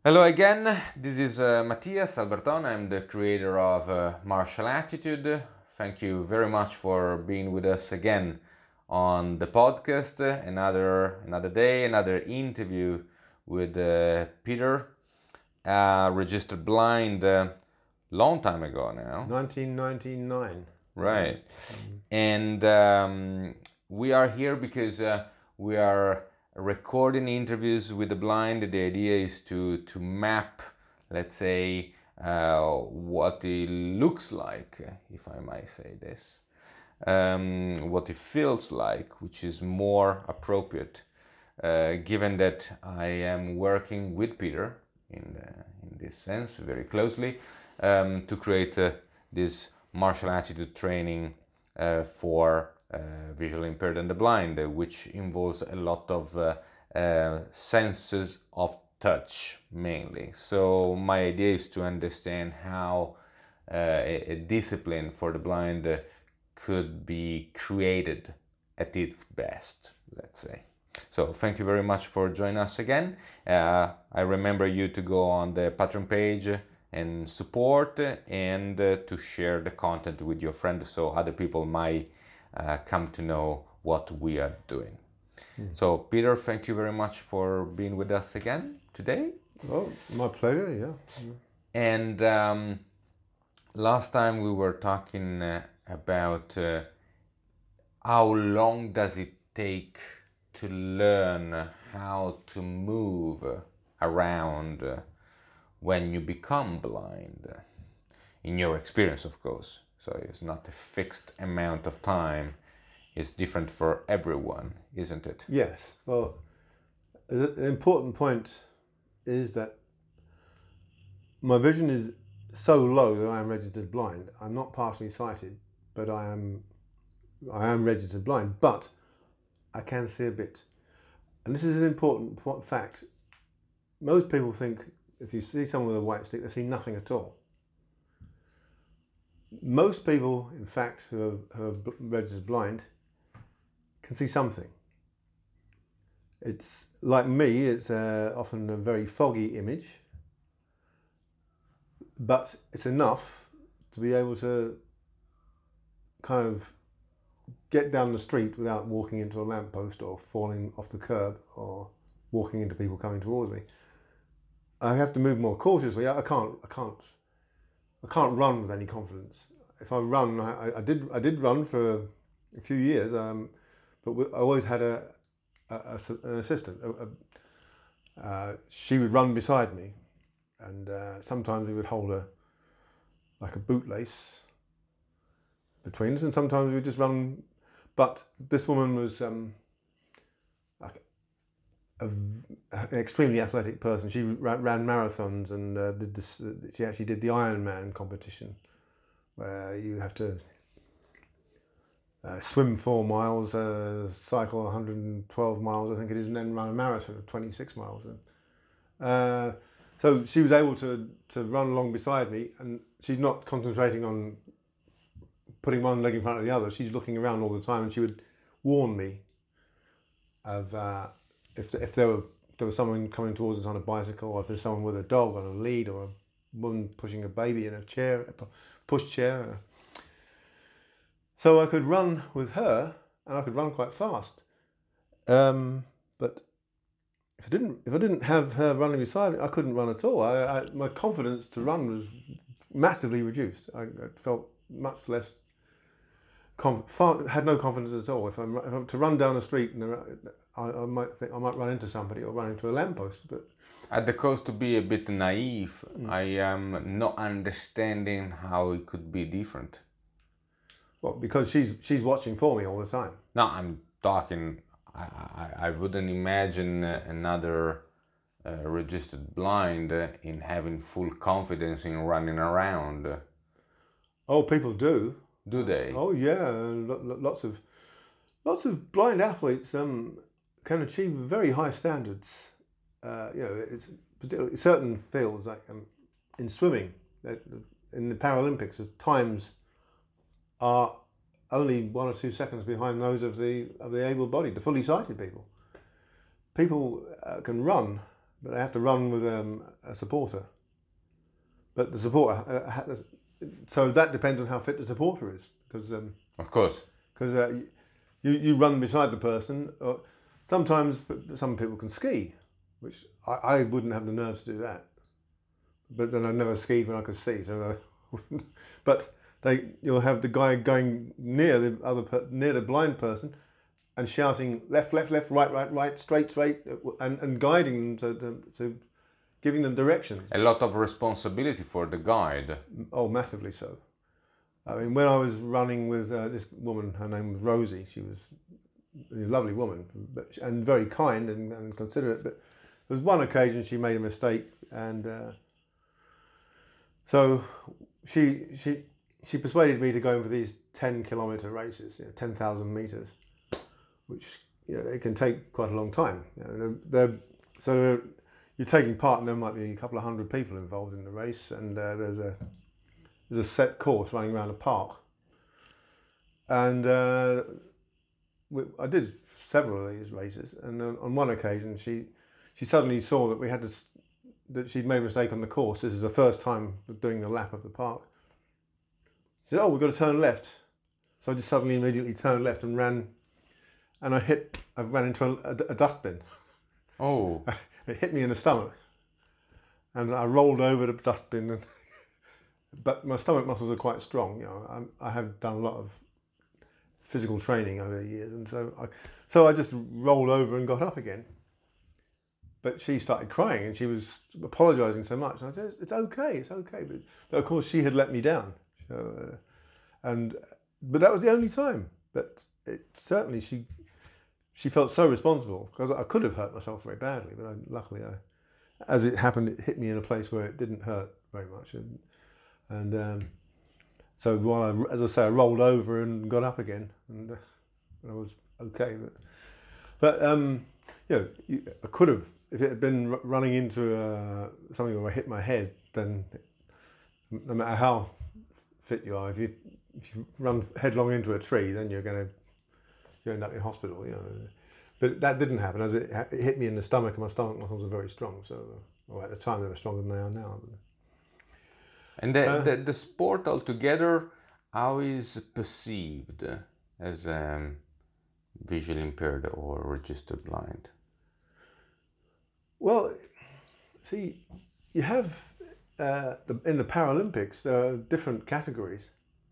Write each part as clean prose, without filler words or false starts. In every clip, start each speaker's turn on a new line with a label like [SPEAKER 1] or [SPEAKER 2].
[SPEAKER 1] Hello again, this is Mattias Alberton. I'm the creator of Martial Attitude. Thank you very much for being with us again on the podcast. Another day, another interview with Peter, registered blind long time ago now.
[SPEAKER 2] 1999.
[SPEAKER 1] Right. And we are here because we are recording interviews with the blind. The idea is to map, let's say, what it looks like, if I might say this, what it feels like, which is more appropriate, given that I am working with Peter in this sense very closely to create this martial attitude training for visually impaired and the blind, which involves a lot of senses of touch mainly. So my idea is to understand how a discipline for the blind could be created at its best, let's say. So thank you very much for joining us again. I remember you to go on the Patreon page and support and to share the content with your friends so other people might come to know what we are doing. So Peter, thank you very much for being with us again today.
[SPEAKER 2] Oh, my pleasure, yeah.
[SPEAKER 1] And last time we were talking about how long does it take to learn how to move around when you become blind, in your experience, of course. So it's not a fixed amount of time. It's different for everyone, isn't it?
[SPEAKER 2] Yes, well, an important point is that my vision is so low that I am registered blind. I'm not partially sighted, but I am registered blind, but I can see a bit. And this is an important fact. Most people think if you see someone with a white stick, they see nothing at all. Most people, in fact, who are registered blind can see something. It's like me, it's often a very foggy image, but it's enough to be able to kind of get down the street without walking into a lamppost or falling off the curb or walking into people coming towards me. I have to move more cautiously. I can't run with any confidence. If I run, I did run for a few years, but I always had an assistant. She would run beside me, and sometimes we would hold like a bootlace between us, and sometimes we would just run. But this woman was like an extremely athletic person. She ran marathons and did this. She actually did the Ironman competition, where you have to swim 4 miles, cycle 112 miles, I think it is, and then run a marathon of 26 miles. So she was able to run along beside me, and she's not concentrating on putting one leg in front of the other. She's looking around all the time, and she would warn me of if there was someone coming towards us on a bicycle, or if there's someone with a dog on a lead, or a woman pushing a baby in a chair, a push chair. So I could run with her, and I could run quite fast. But if I didn't have her running beside me, I couldn't run at all. My confidence to run was massively reduced. I felt much less had no confidence at all. If I'm to run down the street, and I might think I might run into somebody or run into a lamppost. But
[SPEAKER 1] At the cost to be a bit naive, I am not understanding how it could be different.
[SPEAKER 2] well, because she's watching for me all the time.
[SPEAKER 1] No, I'm talking. I wouldn't imagine another registered blind in having full confidence in running around.
[SPEAKER 2] Oh, people do.
[SPEAKER 1] Do they?
[SPEAKER 2] Oh yeah, lots of blind athletes can achieve very high standards. It's particularly certain fields like in swimming, in the Paralympics, the times are only 1 or 2 seconds behind those of the able-bodied, the fully sighted people. People can run but I have to run with a supporter. But the supporter, so that depends on how fit the supporter is, because
[SPEAKER 1] Of course.
[SPEAKER 2] you run beside the person. Or sometimes some people can ski, which I wouldn't have the nerve to do that. But then I never skied when I could see, so but you'll have the guy going near near the blind person and shouting left, left, left, right, right, right, straight, straight, and guiding them to giving them directions.
[SPEAKER 1] A lot of responsibility for the guide.
[SPEAKER 2] Oh, massively so. I mean, when I was running with this woman, her name was Rosie. She was a lovely woman, and very kind and considerate. But there was one occasion she made a mistake, and so she persuaded me to go in for these 10-kilometer races, 10,000 meters, which they can take quite a long time. You're taking part, and there might be a couple of hundred people involved in the race, and there's a set course running around a park. And I did several of these races, and on one occasion she suddenly saw that that she'd made a mistake on the course. This is the first time doing the lap of the park. She said, "Oh, we've got to turn left." So I just suddenly immediately turned left and ran, and I ran into a dustbin.
[SPEAKER 1] Oh.
[SPEAKER 2] It hit me in the stomach, and I rolled over the dustbin. But my stomach muscles are quite strong. I have done a lot of physical training over the years, and so I just rolled over and got up again. But she started crying, and she was apologising so much. And I said, "It's okay, it's okay." But of course, she had let me down. So, but that was the only time. But certainly she felt so responsible, because I could have hurt myself very badly, but luckily, as it happened, it hit me in a place where it didn't hurt very much, and so as I say, I rolled over and got up again, and I was okay. But I could have, if it had been running into something where I hit my head, then no matter how fit you are, if you run headlong into a tree, then you end up in hospital, But that didn't happen, as it hit me in the stomach, and my stomach muscles are very strong. So, at the time they were stronger than they are now.
[SPEAKER 1] And the sport altogether, how is perceived as visually impaired or registered blind?
[SPEAKER 2] Well, see, you have in the Paralympics there are different categories.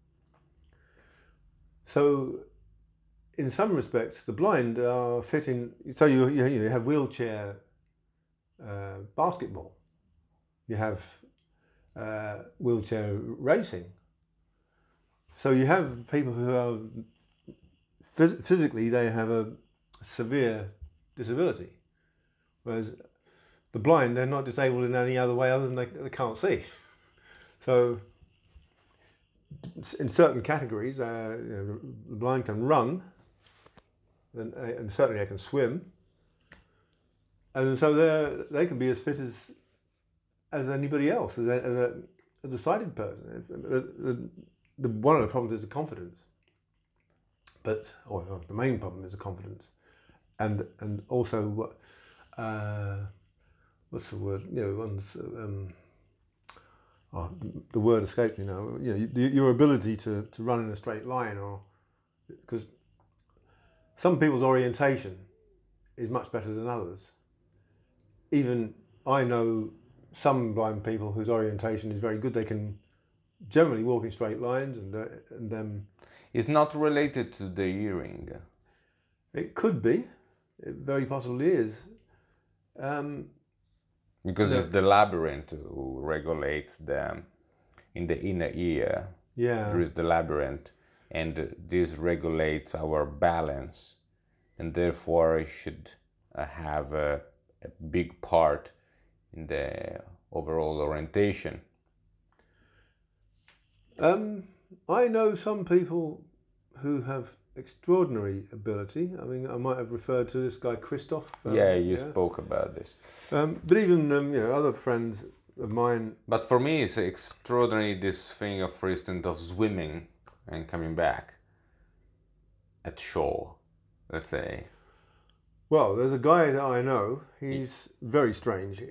[SPEAKER 2] So, in some respects, the blind are fit in. So you have wheelchair basketball. You have wheelchair racing. So you have people who are physically, they have a severe disability, whereas the blind, they're not disabled in any other way other than they can't see. So in certain categories, the blind can run, and certainly they can swim, and so they can be as fit as anybody else, as a sighted person. One of the problems is the confidence, the main problem is the confidence, and also what's the word? The word escapes me now. Your ability to run in a straight line, or because some people's orientation is much better than others. Even I know some blind people whose orientation is very good. They can generally walk in straight lines, and
[SPEAKER 1] it's not related to the hearing.
[SPEAKER 2] It could be. It very possibly is.
[SPEAKER 1] Because it's the labyrinth who regulates in the inner ear.
[SPEAKER 2] Yeah.
[SPEAKER 1] There is the labyrinth, and this regulates our balance, and therefore it should have a big part in the overall orientation.
[SPEAKER 2] I know some people who have extraordinary ability. I mean, I might have referred to this guy Christoph.
[SPEAKER 1] You spoke about this.
[SPEAKER 2] But even other friends of mine.
[SPEAKER 1] But for me, it's extraordinary, this thing of, for instance, of swimming and coming back at shore, let's say.
[SPEAKER 2] Well, there's a guy that I know. He's very strange.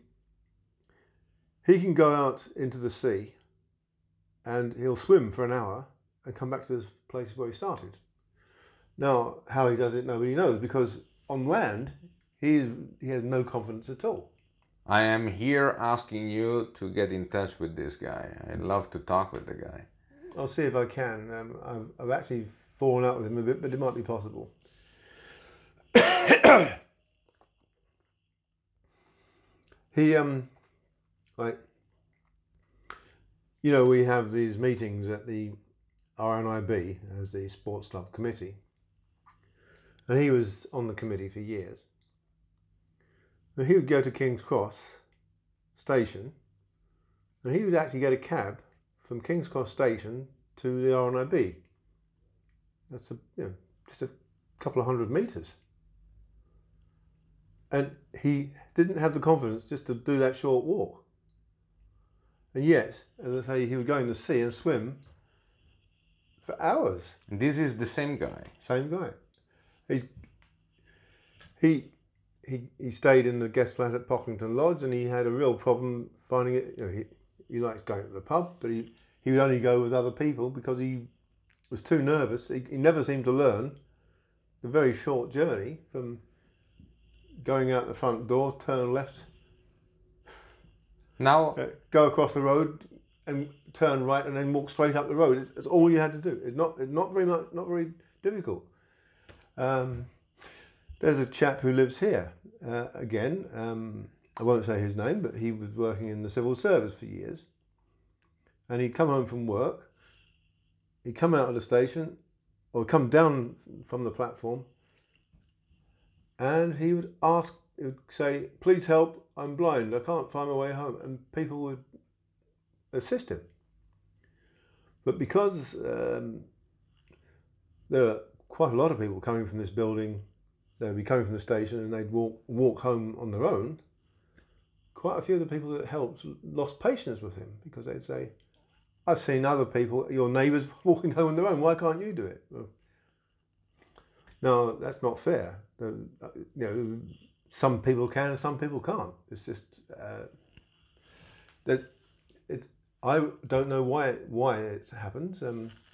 [SPEAKER 2] He can go out into the sea, and he'll swim for an hour and come back to the place where he started. Now, how he does it, nobody knows, because on land, he has no confidence at all.
[SPEAKER 1] I am here asking you to get in touch with this guy. I'd love to talk with the guy.
[SPEAKER 2] I'll see if I can. I've actually fallen out with him a bit, but it might be possible. He like, you know, we have these meetings at the RNIB as the sports club committee, and he was on the committee for years. And he would go to King's Cross station, and he would actually get a cab from King's Cross station to the RNIB. That's just a couple of 100 metres. And he didn't have the confidence just to do that short walk. And yet, as I say, he would go in the sea and swim for hours.
[SPEAKER 1] This is the same guy.
[SPEAKER 2] Same guy. He stayed in the guest flat at Pocklington Lodge, and he had a real problem finding it. You know, he likes going to the pub, but he would only go with other people because he was too nervous. He never seemed to learn the very short journey from going out the front door, turn left,
[SPEAKER 1] Now,
[SPEAKER 2] go across the road, and turn right, and then walk straight up the road. It's all you had to do. It's not very difficult. There's a chap who lives here. Again, I won't say his name, but he was working in the civil service for years. And he'd come home from work, he'd come out of the station, or come down from the platform, and he would say, "Please help, I'm blind, I can't find my way home." And people would assist him. But because there were quite a lot of people coming from this building, they'd be coming from the station and they'd walk home on their own, quite a few of the people that helped lost patience with him, because they'd say, "I've seen other people, your neighbours, walking home on their own, why can't you do it?" Well, now, that's not fair. You know, some people can and some people can't. It's just that I don't know why it happens.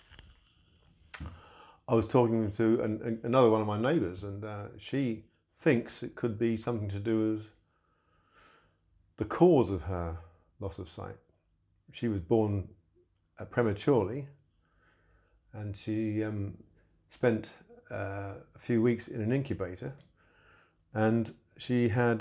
[SPEAKER 2] I was talking to another one of my neighbours, and she thinks it could be something to do with the cause of her loss of sight. She was born prematurely, and she spent a few weeks in an incubator, and she had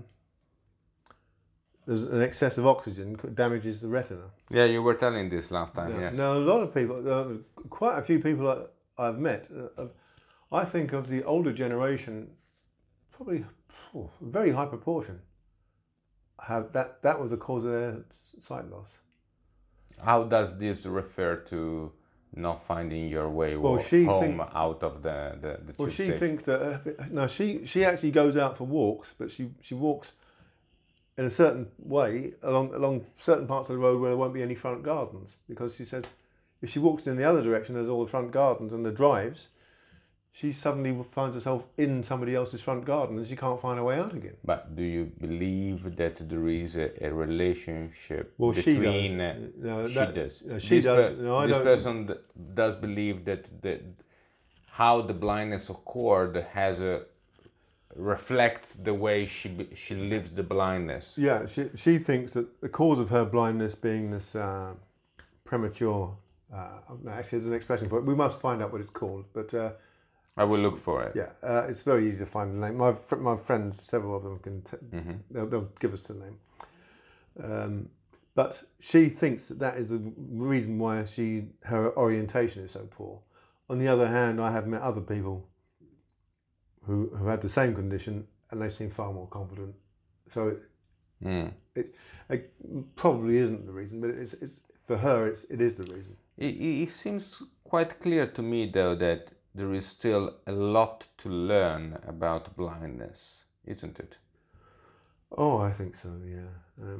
[SPEAKER 2] there's an excess of oxygen damages the retina.
[SPEAKER 1] yeah, you were telling this last time, yes.
[SPEAKER 2] Now, a lot of people, quite a few people I've met, I think of the older generation, probably a very high proportion, have that was the cause of their sight loss.
[SPEAKER 1] How does this refer to not finding your way home out of the
[SPEAKER 2] Well,
[SPEAKER 1] tube
[SPEAKER 2] she
[SPEAKER 1] station?
[SPEAKER 2] thinks that no, she actually goes out for walks, but she walks in a certain way along certain parts of the road where there won't be any front gardens, because she says if she walks in the other direction, there's all the front gardens and the drives. She suddenly finds herself in somebody else's front garden and she can't find her way out again.
[SPEAKER 1] But do you believe that there is a relationship
[SPEAKER 2] Well,
[SPEAKER 1] between...
[SPEAKER 2] she does. No,
[SPEAKER 1] she
[SPEAKER 2] that,
[SPEAKER 1] does.
[SPEAKER 2] No, she does. No, I
[SPEAKER 1] this
[SPEAKER 2] don't.
[SPEAKER 1] person does believe that how the blindness occurred reflects the way she lives the blindness.
[SPEAKER 2] Yeah, she thinks that the cause of her blindness being this premature... actually, there's an expression for it. We must find out what it's called, but...
[SPEAKER 1] I will look for it.
[SPEAKER 2] Yeah, it's very easy to find the name. My friends, several of them, can they'll give us the name. But she thinks that is the reason why her orientation is so poor. On the other hand, I have met other people who had the same condition and they seem far more confident. So it probably isn't the reason, but it's for her it is the reason.
[SPEAKER 1] It seems quite clear to me, though, that there is still a lot to learn about blindness, isn't it?
[SPEAKER 2] Oh, I think so. Yeah.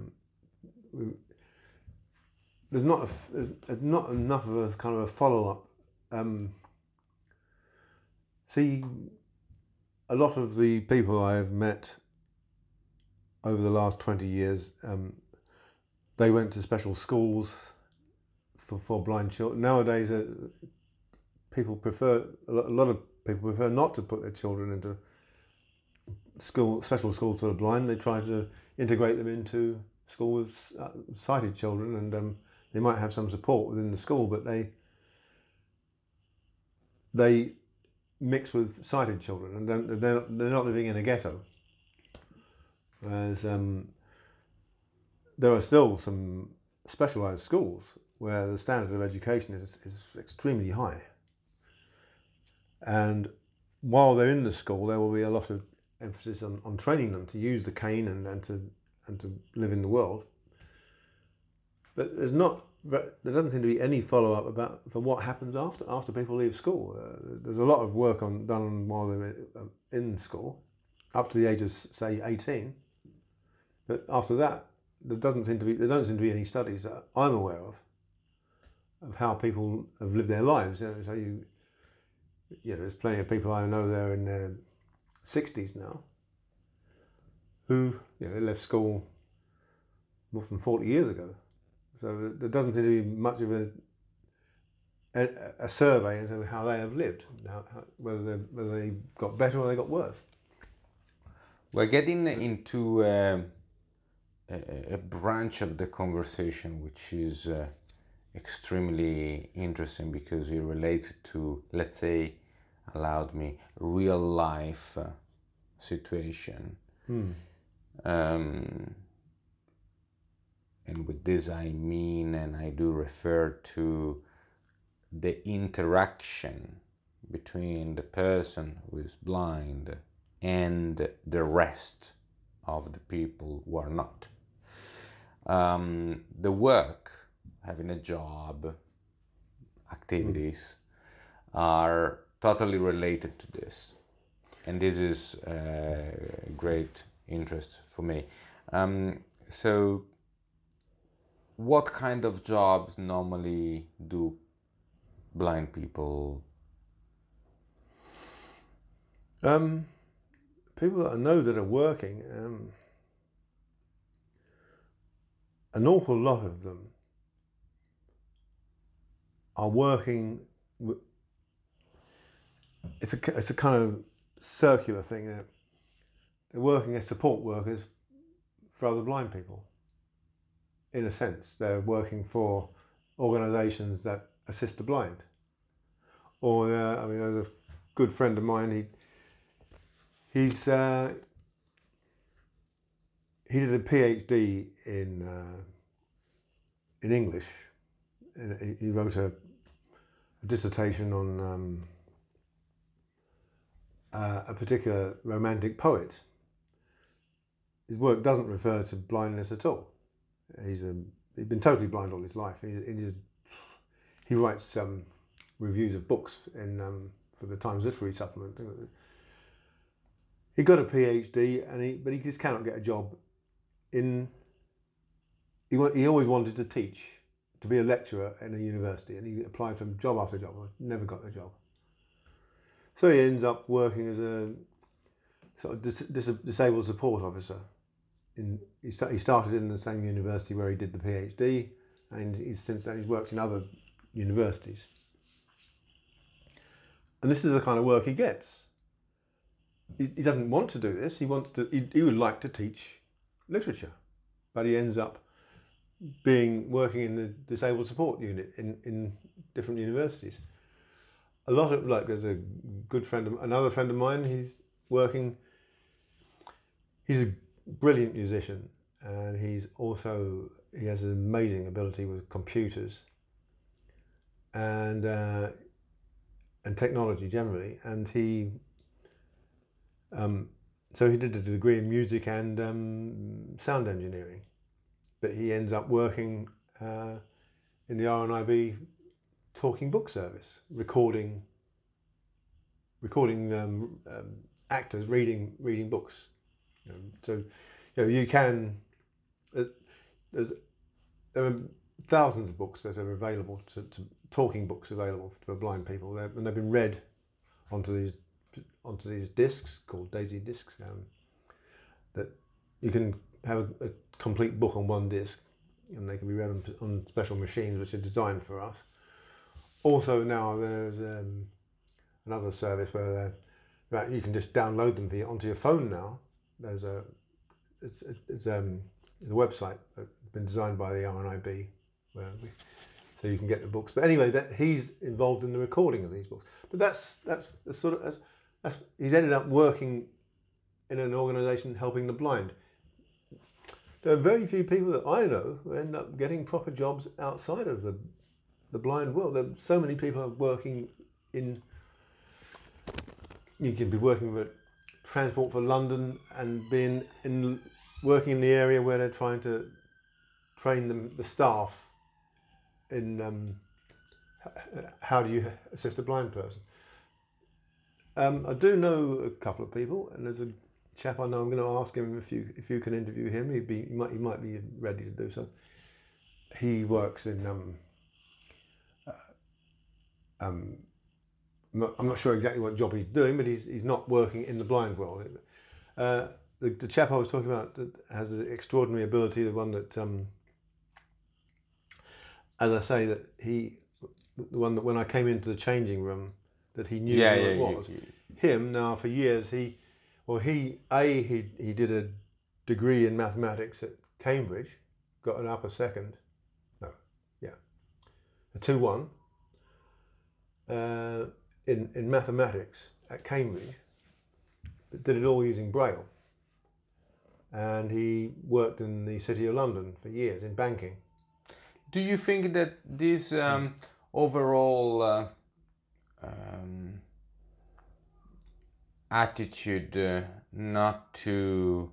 [SPEAKER 2] There's not enough of a kind of a follow-up. See, a lot of the people I have met over the last 20 years, they went to special schools for blind children. Nowadays, people prefer, a lot of people prefer not to put their children into special schools for the blind. They try to integrate them into school with sighted children, and they might have some support within the school, but they mix with sighted children, and they're not living in a ghetto. Whereas there are still some specialised schools where the standard of education is extremely high. And while they're in the school, there will be a lot of emphasis on training them to use the cane and to live in the world. But there doesn't seem to be any follow-up for what happens after people leave school. There's a lot of work done while they're in school, up to the age of, say, 18. But after that, there don't seem to be any studies that I'm aware of how people have lived their lives. So there's plenty of people I know there in their 60s now who they left school more than 40 years ago. So there doesn't seem to be much of a survey into how they have lived, whether they got better or they got worse.
[SPEAKER 1] We're getting into a branch of the conversation which is extremely interesting because it relates to, let's say, real life situation. And with this I mean, and I do refer to the interaction between the person who is blind and the rest of the people who are not. The work, having a job, activities are totally related to this. And this is a great interest for me. So what kind of jobs normally do blind people?
[SPEAKER 2] People that I know that are working, an awful lot of them are working. It's a kind of circular thing. They're working as support workers for other blind people. In a sense, they're working for organisations that assist the blind. Or there's a good friend of mine. He did a PhD in English. He wrote a dissertation on a particular romantic poet. His work doesn't refer to blindness at all. He's been totally blind all his life. He writes reviews of books for the Times Literary Supplement. He got a PhD, but he just cannot get a job he always wanted to teach, to be a lecturer in a university, and he applied for job after job, never got a job. So he ends up working as a sort of disabled support officer. He started in the same university where he did the PhD, and since then he's worked in other universities. And this is the kind of work he gets. He doesn't want to do this. He would like to teach literature, but he ends up working in the disabled support unit in different universities. There's a good another friend of mine. He's a brilliant musician, and he has an amazing ability with computers and technology generally, and so he did a degree in music and sound engineering, but he ends up working in the RNIB talking book service, recording actors reading books. So you can. There are thousands of books that are available talking books available for blind people, and they've been read onto these onto these discs called Daisy discs, that you can have a complete book on one disc, and they can be read on special machines which are designed for us. Also now there's another service where you can just download them onto your phone now. There's a website that's been designed by the RNIB, so you can get the books. But anyway, he's involved in the recording of these books. But that's he's ended up working in an organisation helping the blind. There are very few people that I know who end up getting proper jobs outside of the blind world. There are so many people working in. You can be working with Transport for London and working in the area where they're trying to train the staff in how do you assist a blind person. I do know a couple of people, and there's a chap I know. I'm going to ask him if you can interview him. He might be ready to do so. He works in I'm not sure exactly what job he's doing, but he's not working in the blind world. The chap I was talking about that has an extraordinary ability, the one that, as I say, the one that when I came into the changing room, that he knew who it was. Him now for years. He did a degree in mathematics at Cambridge, got an upper second, a 2-1 in mathematics at Cambridge, but did it all using Braille. And he worked in the City of London for years in banking.
[SPEAKER 1] Do you think that this overall attitude not to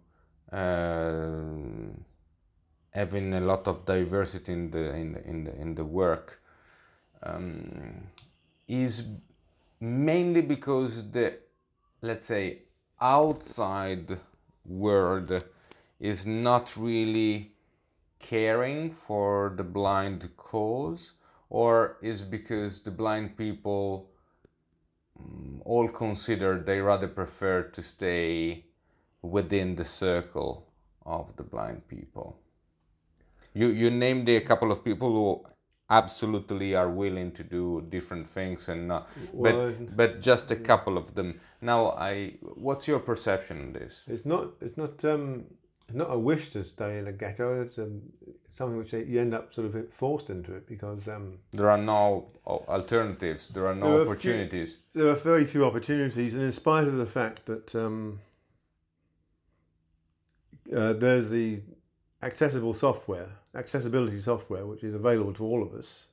[SPEAKER 1] having a lot of diversity in the work is mainly because the, let's say, outside world is not really caring for the blind cause, or is because the blind people all consider they rather prefer to stay within the circle of the blind people? You named a couple of people who absolutely are willing to do different things and not, but just a couple of them. Now, what's your perception on this?
[SPEAKER 2] It's not a wish to stay in a ghetto. It's something which you end up sort of forced into it because
[SPEAKER 1] there are no alternatives. There are no opportunities.
[SPEAKER 2] There are very few opportunities, and in spite of the fact that there's the accessibility software, which is available to all of us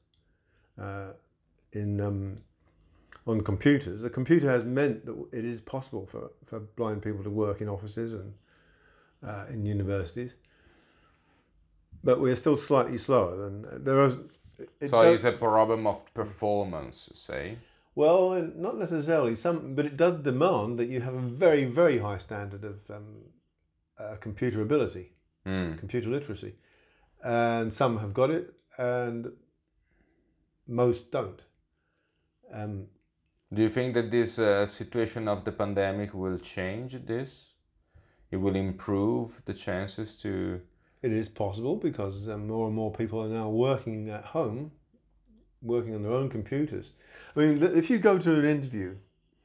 [SPEAKER 2] on computers. The computer has meant that it is possible for blind people to work in offices and in universities, but we're still slightly slower than there are.
[SPEAKER 1] It's a problem of performance, say?
[SPEAKER 2] Well, not necessarily. But it does demand that you have a very, very high standard of computer ability. Computer literacy, and some have got it and most don't.
[SPEAKER 1] Do you think that this situation of the pandemic will change this? It will improve the chances to...
[SPEAKER 2] It is possible because more and more people are now working at home, working on their own computers. I mean, if you go to an interview,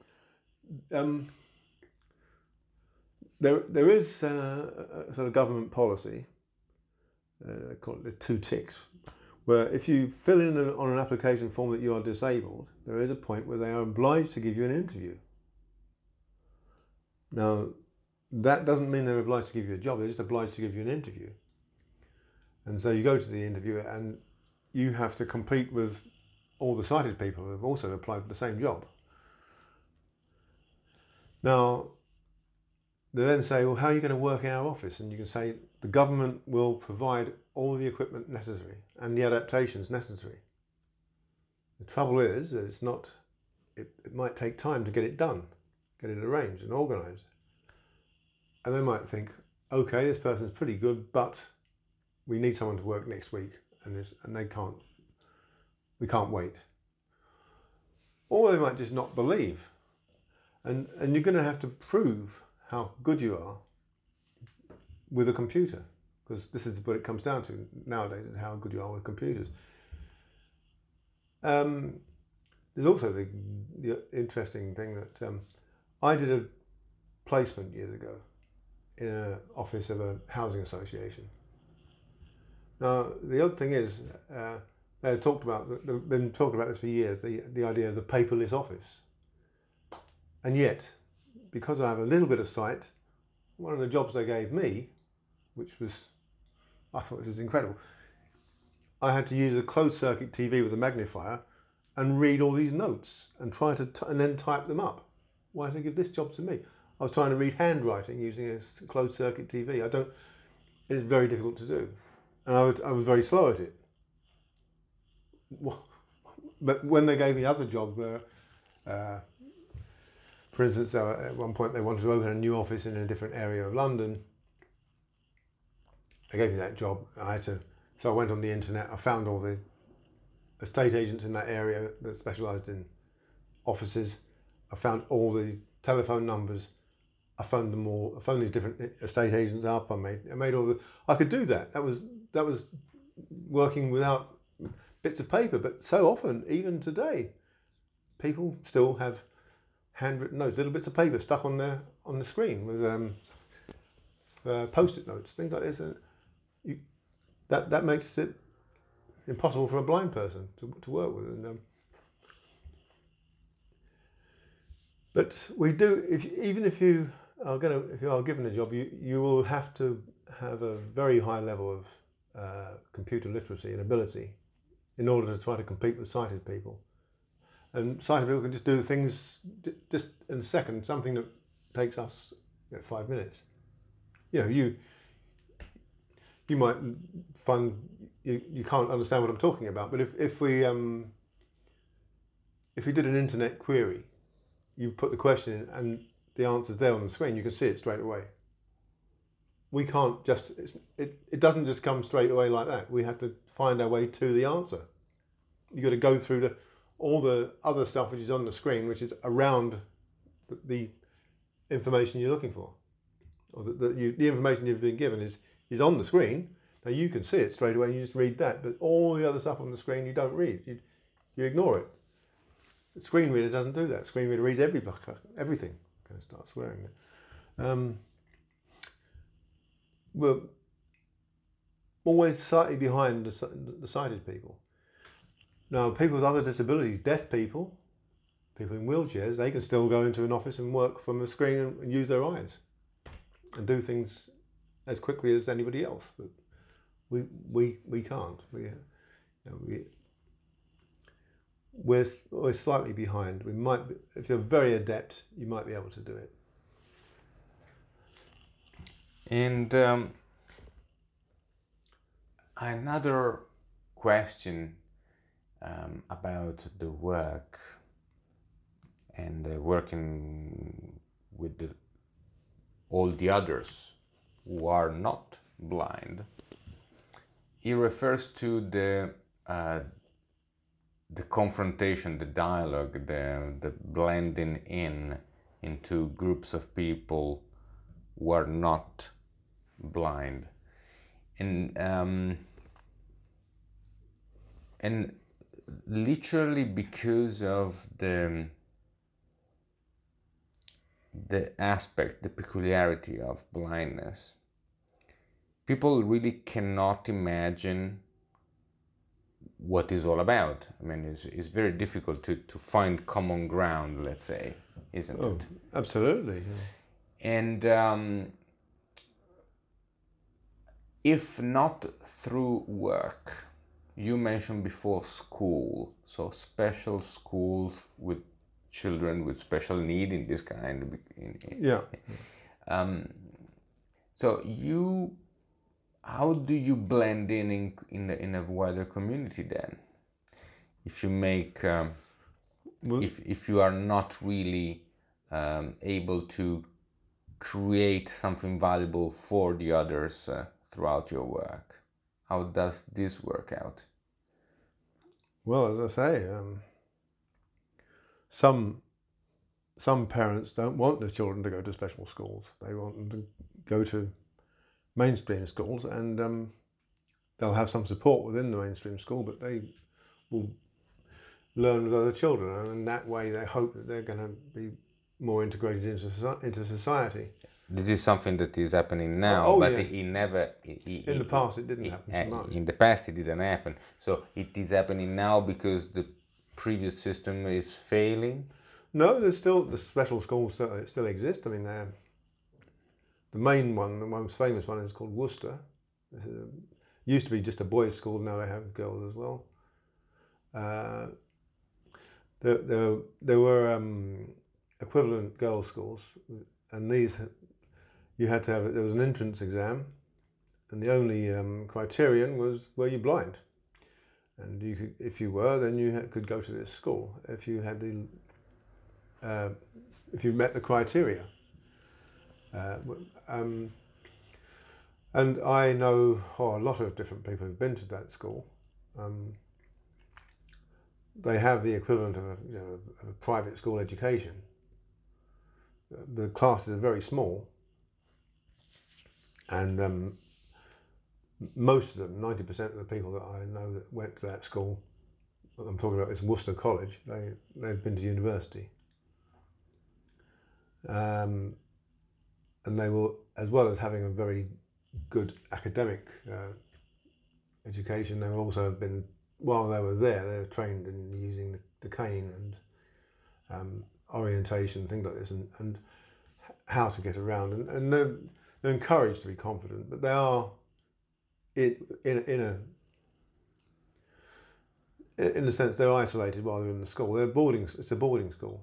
[SPEAKER 2] there is a sort of government policy, they call it the 2 ticks, where if you fill in on an application form that you are disabled, there is a point where they are obliged to give you an interview. Now, that doesn't mean they're obliged to give you a job, they're just obliged to give you an interview. And so you go to the interview and you have to compete with all the sighted people who have also applied for the same job. Now, they then say, well, how are you going to work in our office? And you can say, the government will provide all the equipment necessary and the adaptations necessary. The trouble is that it might take time to get it done, get it arranged and organised. And they might think, okay, this person's pretty good, but we need someone to work next week, and we can't wait. Or they might just not believe. and you're going to have to prove how good you are with a computer, because this is what it comes down to nowadays, is how good you are with computers. There's also the interesting thing that I did a placement years ago in an office of a housing association. Now, the odd thing is, they've been talking about this for years, the idea of the paperless office. And yet, because I have a little bit of sight, one of the jobs they gave me, which was, I thought this was incredible, I had to use a closed circuit TV with a magnifier and read all these notes and try to and then type them up. Why did they give this job to me? I was trying to read handwriting using a closed circuit TV. It's very difficult to do. And I was very slow at it. But when they gave me other jobs where, for instance, at one point they wanted to open a new office in a different area of London, they gave me that job. So I went on the internet, I found all the estate agents in that area that specialised in offices. I found all the telephone numbers. I phoned them all. I phoned these different estate agents up. I made all the. I could do that. That was working without bits of paper. But so often, even today, people still have handwritten notes, little bits of paper stuck on the screen with post-it notes, things like this. And that makes it impossible for a blind person to work with. And but we do. If you are given a job, you will have to have a very high level of computer literacy and ability in order to try to compete with sighted people. And sighted people can just do the things just in a second, something that takes us 5 minutes. You might find you can't understand what I'm talking about, but if we did an internet query, you put the question in and the answer's there on the screen, you can see it straight away. We can't just, it doesn't just come straight away like that. We have to find our way to the answer. You've got to go through all the other stuff which is on the screen, which is around the information you're looking for. Or the information you've been given is on the screen. Now you can see it straight away and you just read that, but all the other stuff on the screen you don't read. You ignore it. The screen reader doesn't do that. The screen reader reads everything. I'm going to start swearing now. We're always slightly behind the sighted people. Now, people with other disabilities, deaf people in wheelchairs, they can still go into an office and work from a screen and use their eyes and do things as quickly as anybody else. But we can't. We're slightly behind. We might, if you're very adept, you might be able to do it.
[SPEAKER 1] And another question about the work and working with all the others who are not blind. He refers to the confrontation, the dialogue, the blending into groups of people who are not blind, and literally because of the aspect, the peculiarity of blindness, people really cannot imagine what it's all about. I mean, it's very difficult to find common ground, let's say, isn't it?
[SPEAKER 2] Absolutely. Yeah.
[SPEAKER 1] And if not through work, you mentioned before school, so special schools with children with special need in this kind.
[SPEAKER 2] Yeah.
[SPEAKER 1] So how do you blend in a wider community then? If you make, if you are not really able to create something valuable for the others throughout your work, how does this work out?
[SPEAKER 2] Well, as I say, some some parents don't want their children to go to special schools. They want them to go to mainstream schools, and they'll have some support within the mainstream school, but they will learn with other children, and in that way they hope that they're going to be more integrated into society.
[SPEAKER 1] This is something that is happening now, but it never...
[SPEAKER 2] in the past it didn't happen so much.
[SPEAKER 1] In the past it didn't happen. So it is happening now because the previous system is failing?
[SPEAKER 2] No, there's still, the special schools still exist. I mean, the main one, the most famous one, is called Worcester. It used to be just a boys' school, now they have girls as well. There were equivalent girls' schools, and these, you had to have, there was an entrance exam, and the only criterion was, were you blind? And you could, if you were, then you could go to this school if you had the if you met the criteria. And I know a lot of different people who've been to that school. They have the equivalent of a private school education. The classes are very small, and most of them, 90% of the people that I know that went to that school, I'm talking about this Worcester College, they've been to university. And they will, as well as having a very good academic education, they will also have been, while they were there, they were trained in using the cane and orientation, things like this, and how to get around. And they're encouraged to be confident, but they are in a sense they're isolated while they're in the school. It's a boarding school.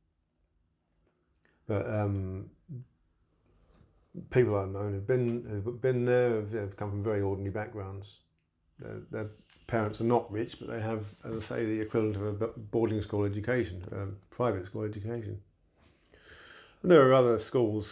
[SPEAKER 2] But people I've known who've been there have come from very ordinary backgrounds. Their parents are not rich, but they have, as I say, the equivalent of a boarding school education, private school education. And there are other schools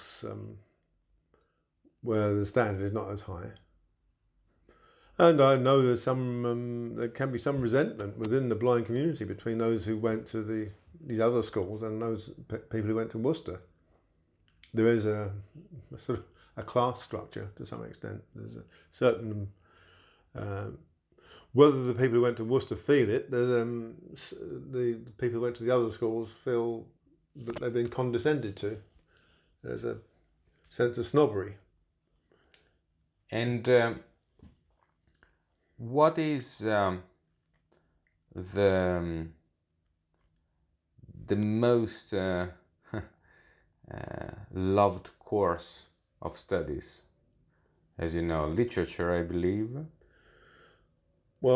[SPEAKER 2] where the standard is not as high. And I know there's there can be some resentment within the blind community between those who went to these other schools and those people who went to Worcester. There is a sort of a class structure to some extent. There's a certain, whether the people who went to Worcester feel it, the people who went to the other schools feel that they've been condescended to. There's a sense of snobbery.
[SPEAKER 1] And what is the most loved course of studies? As you know, literature, I believe.
[SPEAKER 2] Well,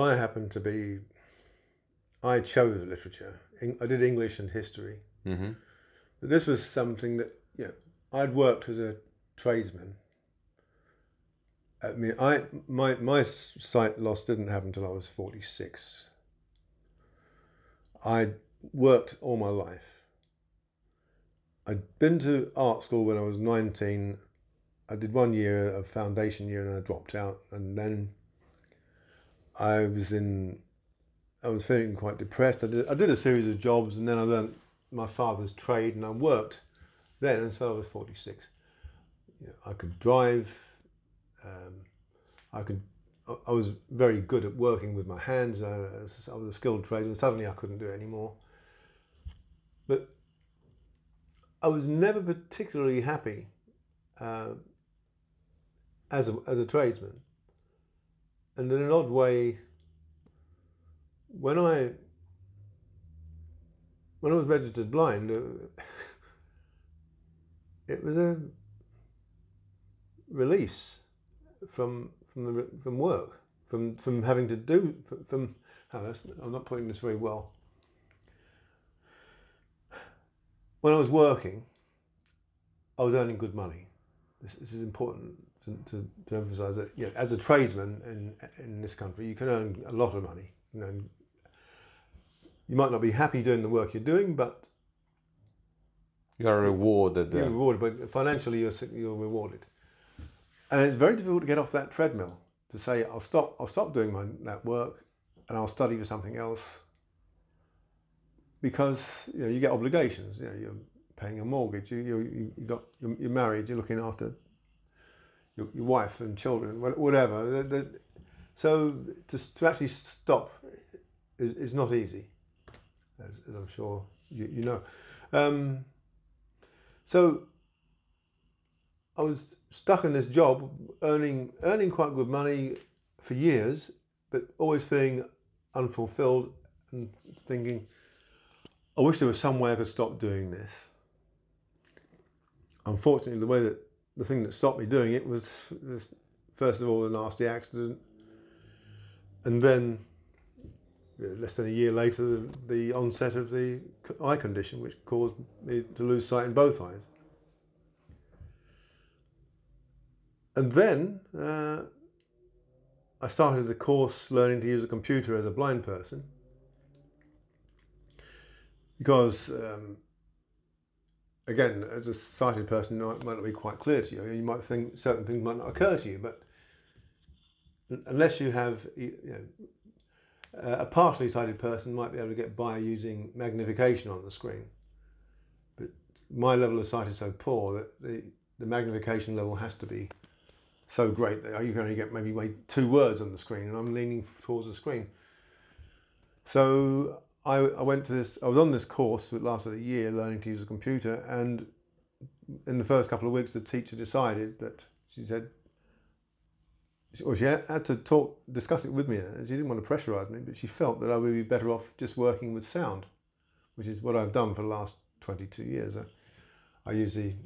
[SPEAKER 2] I chose literature. I did English and history.
[SPEAKER 1] Mm-hmm.
[SPEAKER 2] But this was something that, I'd worked as a tradesman. I mean, my sight loss didn't happen until I was 46. I'd worked all my life. I'd been to art school when I was 19. I did 1 year of foundation year and I dropped out. And then I was feeling quite depressed. I did a series of jobs, and then I learned my father's trade, and I worked then until I was 46. I could drive. I was very good at working with my hands. I was a skilled tradesman. Suddenly I couldn't do it anymore. But I was never particularly happy as a tradesman. And in an odd way, when I was registered blind, it was a release from work, from having to do, I'm not putting this very well. When I was working, I was earning good money. This is important to emphasise that, as a tradesman in this country, you can earn a lot of money. You might not be happy doing the work you're doing, but
[SPEAKER 1] you're rewarded.
[SPEAKER 2] You're rewarded, but financially you're rewarded. And it's very difficult to get off that treadmill, to say, I'll stop doing that work and I'll study for something else, because you get obligations. You're paying a mortgage. You're married. You're looking after your wife and children, whatever. So to actually stop is not easy, as I'm sure you know. So I was stuck in this job, earning quite good money for years, but always feeling unfulfilled and thinking, I wish there was some way I could stop doing this. Unfortunately, the thing that stopped me doing it was first of all the nasty accident, and then less than a year later the onset of the eye condition, which caused me to lose sight in both eyes. And then I started the course learning to use a computer as a blind person, because again, as a sighted person, it might not be quite clear to you. You might think certain things might not occur to you, but unless you have, a partially sighted person might be able to get by using magnification on the screen. But my level of sight is so poor that the magnification level has to be so great that you can only get maybe 2 words on the screen, and I'm leaning towards the screen. So I went to this. I was on this course that lasted a year, learning to use a computer, and in the first couple of weeks, the teacher decided that she said, well, she had to discuss it with me. She didn't want to pressurise me, but she felt that I would be better off just working with sound, which is what I've done for the last 22 years. I use the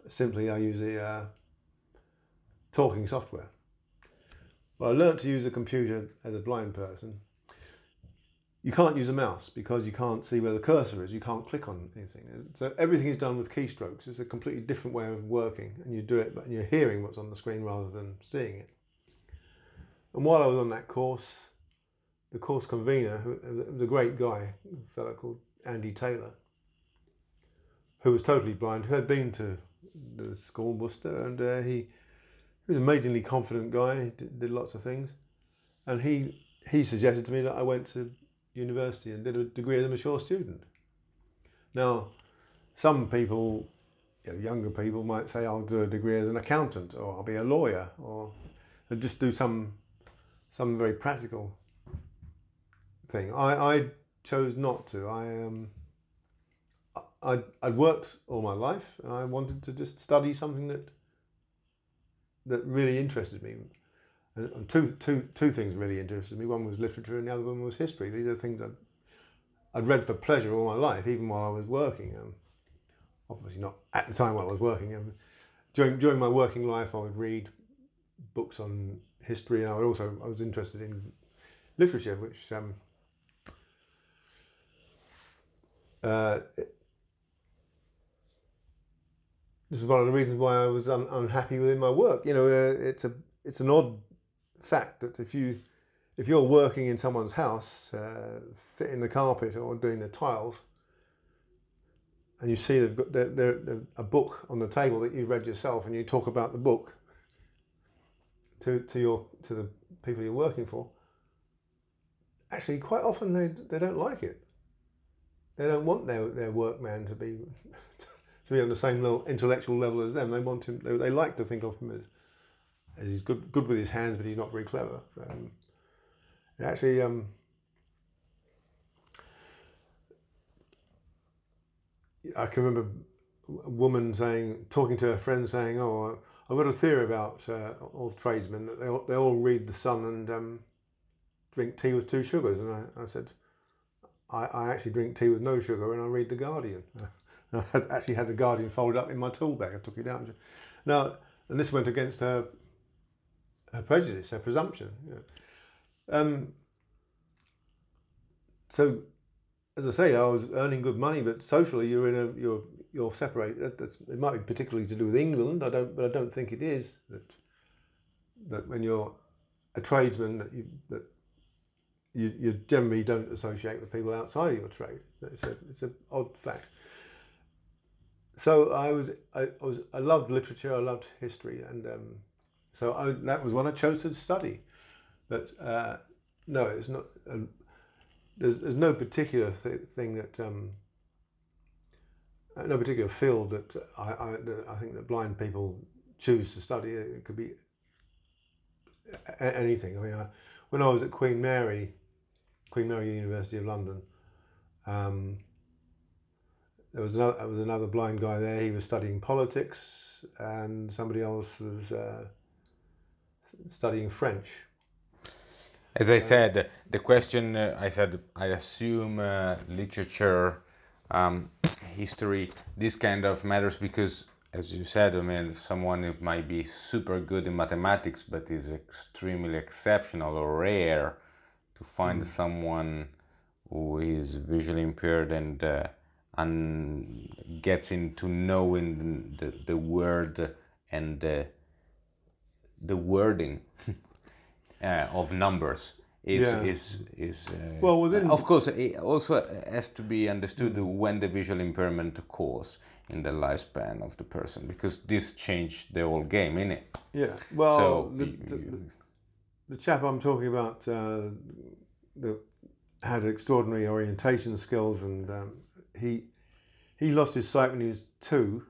[SPEAKER 2] talking software. Well, I learnt to use a computer as a blind person. You can't use a mouse because you can't see where the cursor is. You can't click on anything. So everything is done with keystrokes. It's a completely different way of working, and you do it, but you're hearing what's on the screen rather than seeing it. And while I was on that course, the course convener, who was a great guy, a fellow called Andy Taylor, who was totally blind, who had been to the school in Worcester, and he was an amazingly confident guy. He did lots of things, and he suggested to me that I went to university and did a degree as a mature student. Now, some people, younger people, might say I'll do a degree as an accountant, or I'll be a lawyer, or I'll just do some very practical thing. I chose not to. I'd worked all my life, and I wanted to just study something that really interested me. And two things really interested me. One was literature, and the other one was history. These are things I'd read for pleasure all my life, even while I was working. Obviously not at the time while I was working. During my working life, I would read books on history, and I was interested in literature, which this is one of the reasons why I was unhappy within my work. It's an odd fact that if you're working in someone's house, fitting the carpet or doing the tiles, and you see they've got a book on the table that you've read yourself, and you talk about the book to the people you're working for, actually quite often they don't like it. They don't want their workman to be on the same intellectual level as them. They want him. They like to think of him as he's good with his hands, but he's not very clever. Actually, I can remember a woman talking to her friend, saying, "Oh, I've got a theory about all tradesmen, that they all read The Sun and drink tea with 2 sugars." And I said, I actually drink tea with no sugar, and I read The Guardian. I actually had The Guardian folded up in my tool bag. I took it out. Now, and this went against her prejudice, her presumption. So, as I say, I was earning good money, but socially, you're separated. It might be particularly to do with England. But I don't think it is that when you're a tradesman that you generally don't associate with people outside of your trade. It's an odd fact. So I loved literature. I loved history, and so that was what I chose to study. But no, it's not. There's no particular thing that no particular field that I think that blind people choose to study. It could be anything. I mean, when I was at Queen Mary University of London, there was another blind guy there. He was studying politics, and somebody else was studying French.
[SPEAKER 1] As I said, the question, I said, I assume literature, history, this kind of matters because, as you said, I mean, someone who might be super good in mathematics but is extremely exceptional or rare to find someone who is visually impaired and gets into knowing the word and the wording of numbers is
[SPEAKER 2] well within.
[SPEAKER 1] Of course it also has to be understood when the visual impairment occurs in the lifespan of the person, because this changed the whole game, innit?
[SPEAKER 2] Yeah. Well,
[SPEAKER 1] So
[SPEAKER 2] the chap I'm talking about that had extraordinary orientation skills, and he lost his sight when he was 2.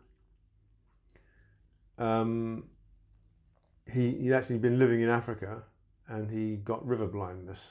[SPEAKER 2] He'd actually been living in Africa, and he got river blindness.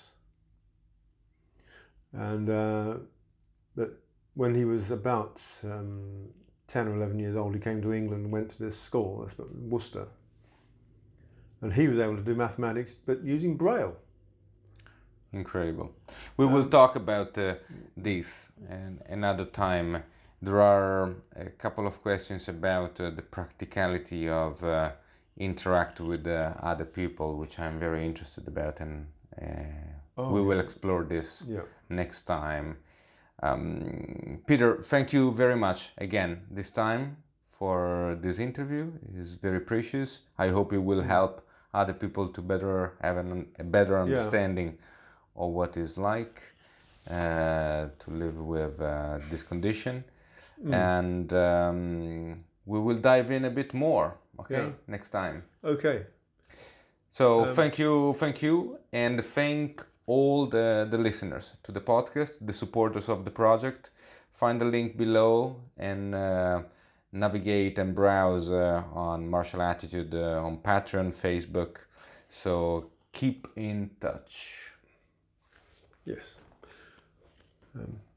[SPEAKER 2] And but when he was about 10 or 11 years old, he came to England and went to this school, Worcester. And he was able to do mathematics, but using Braille.
[SPEAKER 1] Incredible. We will talk about this another time. There are a couple of questions about the practicality of interact with other people, which I'm very interested about, and we will explore this next time. Peter, thank you very much again this time for this interview. It is very precious. I hope it will help other people to better have a better understanding of what it's like to live with this condition. And we will dive in a bit more, next time.
[SPEAKER 2] Okay.
[SPEAKER 1] So thank you, and thank all the listeners to the podcast, the supporters of the project. Find the link below and navigate and browse on Martial Attitude on Patreon, Facebook. So keep in touch.
[SPEAKER 2] Yes.